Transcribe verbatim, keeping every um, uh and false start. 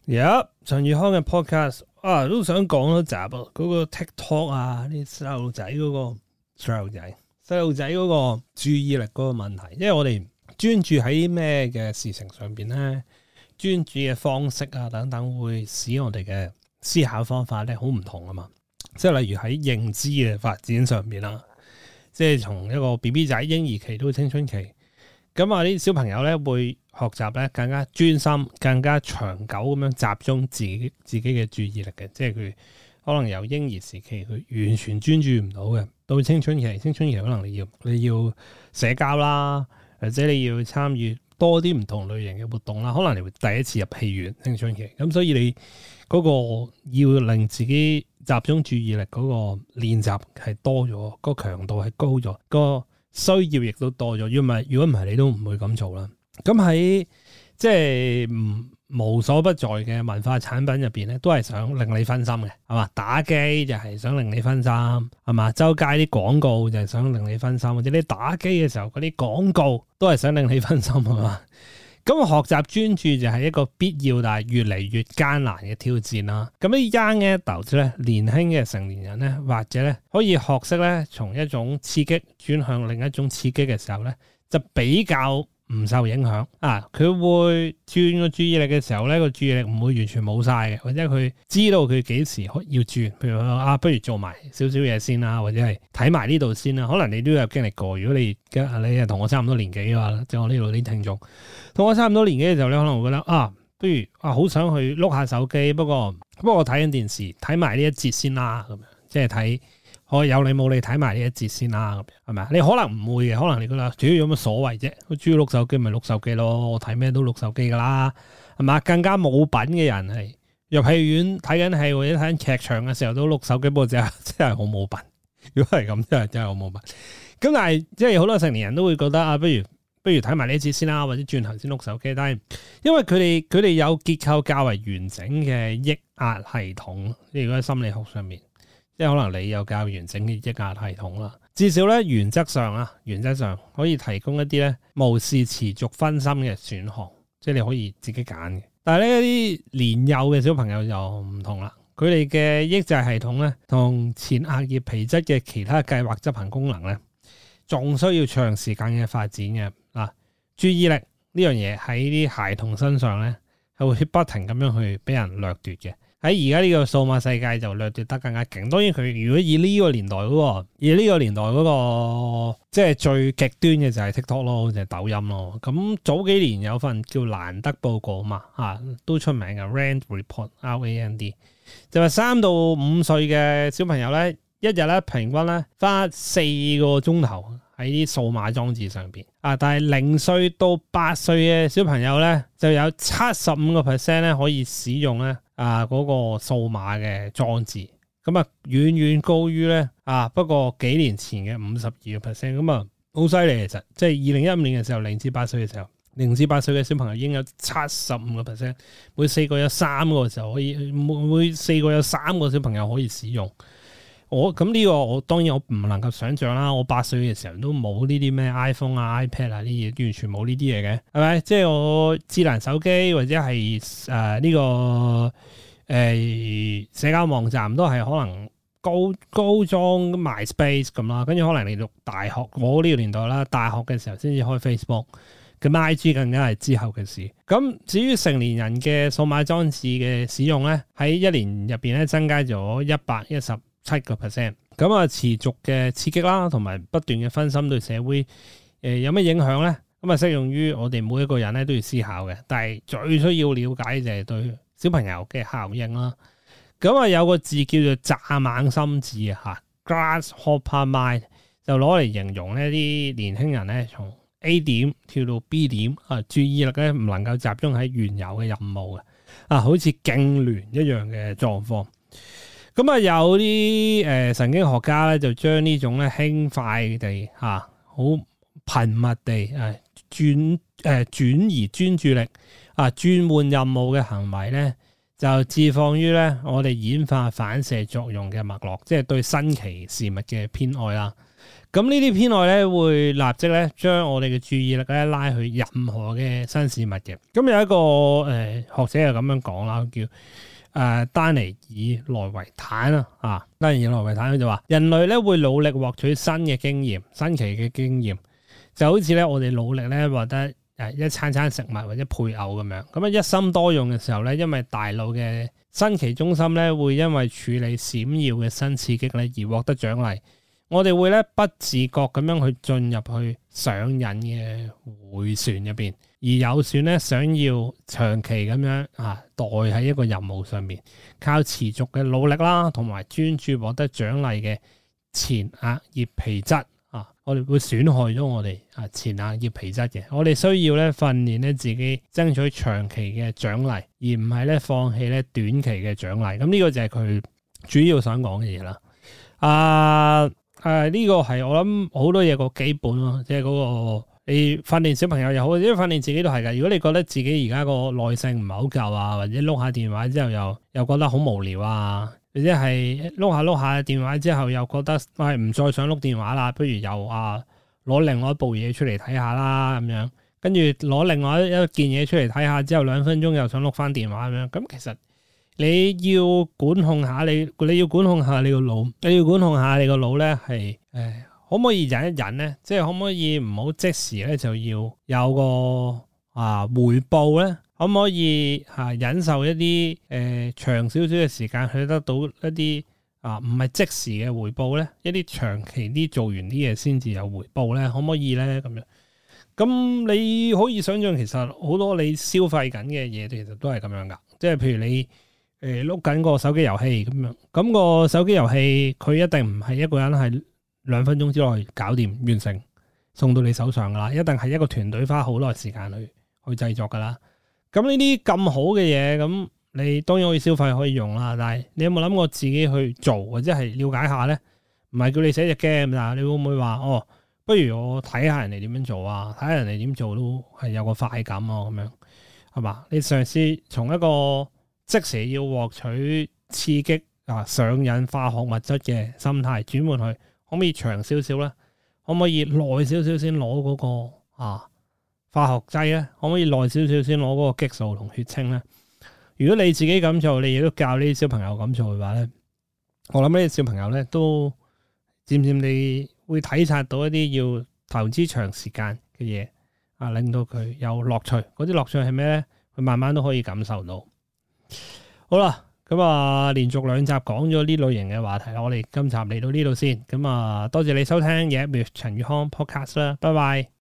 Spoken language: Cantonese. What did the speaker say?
有陳宇康嘅 podcast 啊，都想講多集啊，嗰、那個 TikTok 啊，啲細路仔嗰個細路仔細路仔嗰個注意力嗰個問題，因為我哋專注喺咩嘅事情上邊咧，專注嘅方式啊等等，會使我哋嘅思考方法咧好唔同啊嘛。即係例如喺認知嘅發展上邊啦，即係從一個 B B 仔嬰兒期到青春期，咁啊啲小朋友咧會學習咧更加專心、更加長久咁樣集中自己自己嘅注意力嘅，即係佢可能由嬰兒時期佢完全專注唔到嘅，到青春期，青春期可能你要你要社交啦，或者你要參與多啲唔同類型嘅活動啦，可能你會第一次入戲院青春期，咁所以你嗰個要令自己集中注意力嗰個練習係多咗，個強度係高咗，個需要亦都多咗。如果唔係，如果唔係，你都唔會咁做啦。咁喺即係唔無所不在嘅文化產品入邊咧，都係想令你分心嘅，係嘛？打機就係想令你分心，係嘛？周街啲廣告就係想令你分心，或者你打機嘅時候嗰啲廣告都係想令你分心，係嘛？咁學習專注就係一個必要，但係越嚟越艱難嘅挑戰啦。咁啲 young adults 咧，年輕嘅成年人咧，或者咧可以學識咧，從一種刺激轉向另一種刺激嘅時候咧，就比較唔受影響啊！佢會轉個注意力嘅時候咧，個注意力唔會完全冇晒嘅，或者佢知道佢幾時要轉。譬如啊，不如做埋少少嘢先啦，或者係睇埋呢度先啦。可能你都有經歷過。如果你你係同我差唔多年紀嘅話，即係我呢度啲聽眾同我差唔多年紀嘅時候咧，可能會覺得啊，不如啊好想去碌下手機，不過不過我睇緊電視，睇埋呢一節先啦，咁樣即係睇。我有你冇你睇埋呢一節先啦，係咪啊？你可能唔會嘅，可能你覺得主要有乜所謂啫？我主要碌手機咪碌手機咯，我睇咩都碌手機噶啦，係嘛？更加冇品嘅人係入戲院睇緊戲或者睇緊劇場嘅時候都碌手機，不過真係真係好冇品。如果係咁，真係真係好冇品。咁但係即係好多成年人都會覺得啊，不如不如睇埋呢一節先啦，或者轉頭先碌手機。但係因為佢哋佢哋有結構較為完整嘅抑壓系統，即係如果喺心理學上面。即係可能你有較完整嘅抑壓系統啦，至少咧原則上啊，原則上可以提供一啲咧無視持續分心嘅選項，即係你可以自己揀嘅。但係呢一啲年幼嘅小朋友就唔同啦，佢哋嘅抑制系統咧同前額葉皮質嘅其他計劃執行功能咧，仲需要長時間嘅發展嘅。嗱，注意力呢樣嘢喺啲孩童身上咧係會不停咁樣去俾人掠奪嘅。喺而家呢個數碼世界就掠奪得更加勁。當然佢如果以呢個年代嗰、嗰個，以呢個年代嗰、嗰個即係最極端嘅就係 TikTok 咯，就係抖音咯。咁早幾年有份叫蘭德報告嘛，啊都出名嘅 Rand Report R A N D， 就話三到五歲嘅小朋友咧，一日咧平均咧花四個鐘頭喺啲數碼裝置上邊啊，但係零歲到八歲嘅小朋友咧就有七十五個 percent 咧可以使用咧。啊！嗰、那個數碼嘅裝置，咁啊遠遠高於咧啊，不過幾年前嘅五十二個 percent，咁啊好犀利其實，即係二零一五年嘅時候，零至八歲嘅時候，零至八歲嘅小朋友已經有七十五個 percent，每四個有三個嘅時候可以，每每四個有三個小朋友可以使用。我咁呢個我當然我唔能夠想象啦，我八歲嘅時候都冇呢啲咩 iPhone 啊 iPad 啊呢啲，完全冇呢啲嘢嘅，係咪？即係我智能手機或者係誒呢個誒、呃、社交網站都係可能高高中 MySpace 咁啦，跟住可能你讀大學，我呢個年代啦，大學嘅時候先至開 Facebook，咁 I G 更加係之後嘅事。咁至於成年人嘅數碼裝置嘅使用咧，喺一年入邊咧增加咗一百一十七個 percent， 咁啊持續嘅刺激啦，同埋不斷嘅分心對社會誒、呃、有咩影響咧？咁啊適用於我哋每一個人咧都要思考嘅，但係最需要了解就係對小朋友嘅效應啦。咁啊有個字叫做蚱蜢心智啊嚇 ，grasshopper mind， 就攞嚟形容呢啲年輕人咧從 A 點跳到 B 點啊，注意力咧唔能夠集中喺原有嘅任務嘅啊，好似痙攣一樣嘅狀況。咁啊，有啲誒神經學家咧，就將呢種咧輕快地嚇，好頻密地誒轉誒轉移專注力啊，轉換任務嘅行為咧，就置放於咧我哋演化反射作用嘅脈絡，即係對新奇事物嘅偏愛啦。 咁呢啲偏愛咧會立即咧將我哋嘅注意力咧拉去任何嘅新事物嘅。咁有一個誒、呃、學者係咁樣講啦，叫誒、呃、丹尼爾內維坦啊，啊丹尼爾內維坦佢就話：人類咧會努力獲取新嘅經驗、新奇嘅經驗，就好似咧我哋努力咧獲得誒一餐餐食物或者配偶咁樣。咁啊一心多用嘅時候咧，因為大腦嘅新奇中心咧會因為處理閃耀嘅新刺激咧而獲得獎勵。我哋會咧不自覺咁樣去進入去上癮嘅迴旋入邊，而有選咧想要長期咁樣啊待喺一個任務上面，靠持續嘅努力啦，同埋專注獲得獎勵嘅前額葉皮質啊，我哋會損害咗我哋啊前額葉皮質嘅。我哋需要咧訓練咧自己爭取長期嘅獎勵，而唔係咧放棄咧短期嘅獎勵。咁呢個就係佢主要想講嘅嘢啦。啊！誒呢、啊這個係我諗好多嘢個基本咯，即係嗰個你訓練小朋友又好，或者訓練自己都係㗎。如果你覺得自己而家個耐性唔係好夠啊，或者碌下電話之後又又覺得好無聊啊，或者係碌下碌下電話之後又覺得喂唔、哎、再想碌電話啦，不如又啊攞另外一部嘢出嚟睇下啦咁樣，跟住攞另外一件嘢出嚟睇下之後兩分鐘又想碌翻電話咁樣，咁其實。你要管控下你，你要管控下你個腦，你要管控下你個腦咧，係誒，可唔可以忍一忍咧？即係可唔可以唔好即時咧就要有個啊回報咧？可唔可以吓、啊、忍受一啲誒、呃、長少少嘅時間去得到一啲啊唔係即時嘅回報咧？一啲長期啲做完啲嘢先至有回報咧？可唔可以咧？咁樣咁你可以想象，其實好多你消費緊嘅嘢，其實都係咁樣噶。即係譬如你。誒碌緊個手機遊戲咁樣，咁個手機遊戲佢一定唔係一個人係兩分鐘之內搞掂完成送到你手上噶啦，一定係一個團隊花好耐時間去去製作噶啦。咁呢啲咁好嘅嘢，咁你當然可以消費可以用啦，但係你有冇諗過自己去做或者係了解下咧？唔係叫你寫隻 game，但係你會唔會話哦？不如我睇下人哋點樣做啊，睇下人哋點做都係有個快感啊，咁樣係嘛？你嘗試從一個即時要獲取刺激啊上癮化學物質嘅心態轉換去，可唔可以長少少咧？可唔可以耐少少先攞嗰個啊化學劑咧？可唔可以耐少少先攞嗰個激素同血清咧？如果你自己咁做，你亦都教呢啲小朋友咁做嘅話咧，我諗呢啲小朋友咧都漸漸地會體察到一啲要投資長時間嘅嘢啊，令到佢有樂趣。嗰啲樂趣係咩咧？佢慢慢都可以感受到。好啦，咁啊，連續兩集講咗呢類型嘅話題，我哋今集嚟到呢度先。咁啊，多謝你收聽嘢 with 陳宇康 podcast 啦，拜拜。